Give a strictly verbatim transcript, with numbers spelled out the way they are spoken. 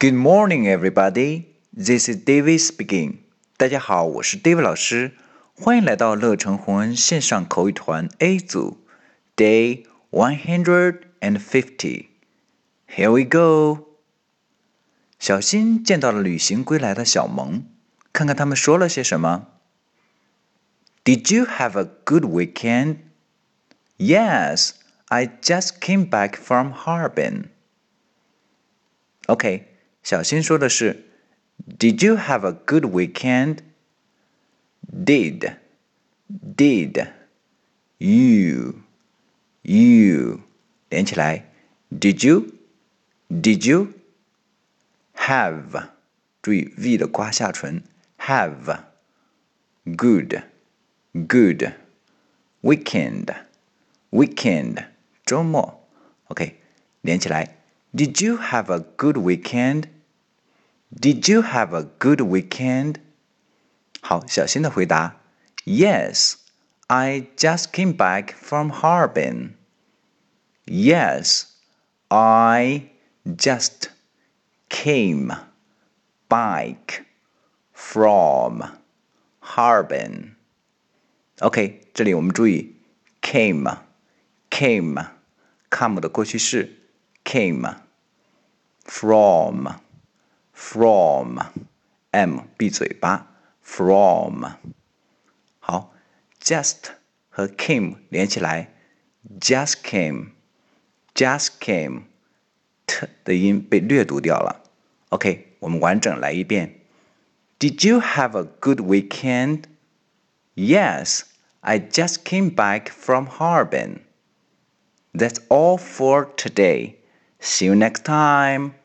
Good morning, everybody. This is David speaking. 大家好，我是 David 老师，欢迎来到乐成宏恩线上口语团 A 组 Day one hundred fifty. Here we go. 小新见到了旅行归来的小萌，看看他们说了些什么。Did you have a good weekend? Yes, I just came back from Harbin. OK, 小新说的是 Did you have a good weekend? Did, did, you, you 连起来 Did you, did you have 注意 V 的刮下唇 have good, good weekend, weekend 周末 OK 连起来Did you have a good weekend? Did you have a good weekend? 好，小新的回答 Yes, I just came back from Harbin. Yes, I just came back from Harbin. OK, 这里我们注意 came, came, come 的过去式 came, from, from, m 闭嘴巴 from. 好 just 和 came 连起来 just came, just came, t 的音被略读掉了 OK, 我们完整来一遍 Did you have a good weekend? Yes, I just came back from Harbin. That's all for today. See you next time.